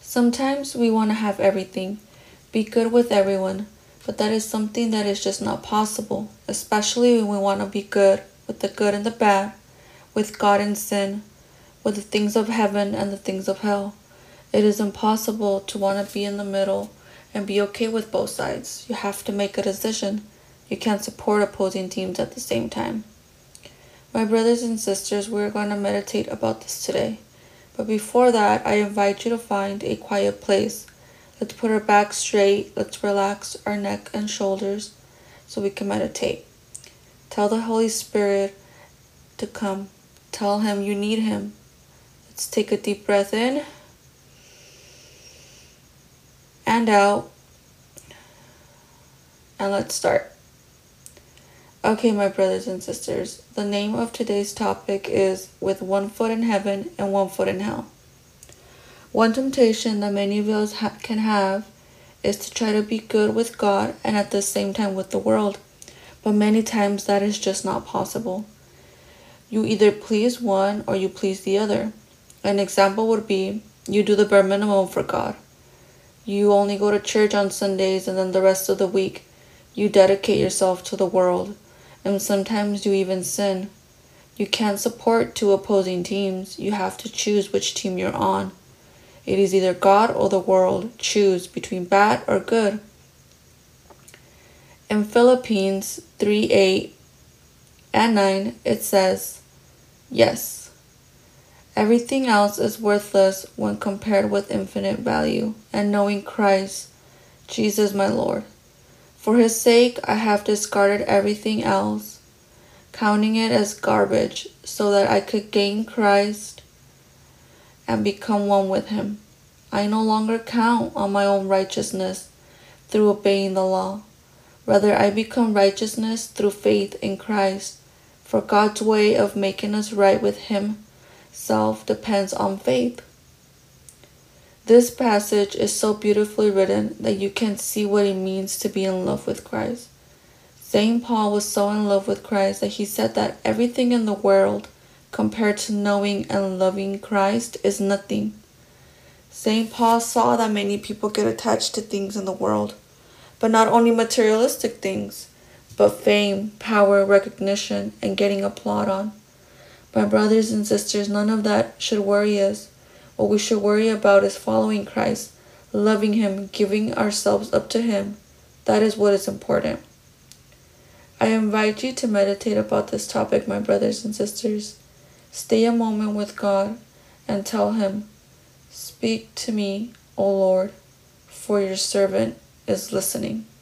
Sometimes we want to have everything, be good with everyone, but that is something that is just not possible, especially when we want to be good with the good and the bad, with God and sin, with the things of heaven and the things of hell. It is impossible to want to be in the middle and be okay with both sides. You have to make a decision. You can't support opposing teams at the same time. My brothers and sisters, we're going to meditate about this today. But before that, I invite you to find a quiet place. Let's put our back straight. Let's relax our neck and shoulders so we can meditate. Tell the Holy Spirit to come. Tell him you need him. Let's take a deep breath in and out. And let's start. Okay, my brothers and sisters, the name of today's topic is With One Foot in Heaven and One Foot in Hell. One temptation that many of us can have is to try to be good with God and at the same time with the world. But many times that is just not possible. You either please one or you please the other. An example would be you do the bare minimum for God. You only go to church on Sundays and then the rest of the week you dedicate yourself to the world. And sometimes you even sin. You can't support two opposing teams. You have to choose which team you're on. It is either God or the world. Choose between bad or good. In Philippians 3:8 and 9, it says, yes, everything else is worthless when compared with infinite value and knowing Christ, Jesus my Lord. For his sake, I have discarded everything else, counting it as garbage, so that I could gain Christ and become one with him. I no longer count on my own righteousness through obeying the law. Rather, I become righteousness through faith in Christ. For God's way of making us right with himself depends on faith. This passage is so beautifully written that you can see what it means to be in love with Christ. St. Paul was so in love with Christ that he said that everything in the world compared to knowing and loving Christ is nothing. St. Paul saw that many people get attached to things in the world, but not only materialistic things, but fame, power, recognition, and getting applaud on. My brothers and sisters, none of that should worry us. What we should worry about is following Christ, loving him, giving ourselves up to him. That is what is important. I invite you to meditate about this topic, my brothers and sisters. Stay a moment with God and tell him, speak to me, O Lord, for your servant is listening.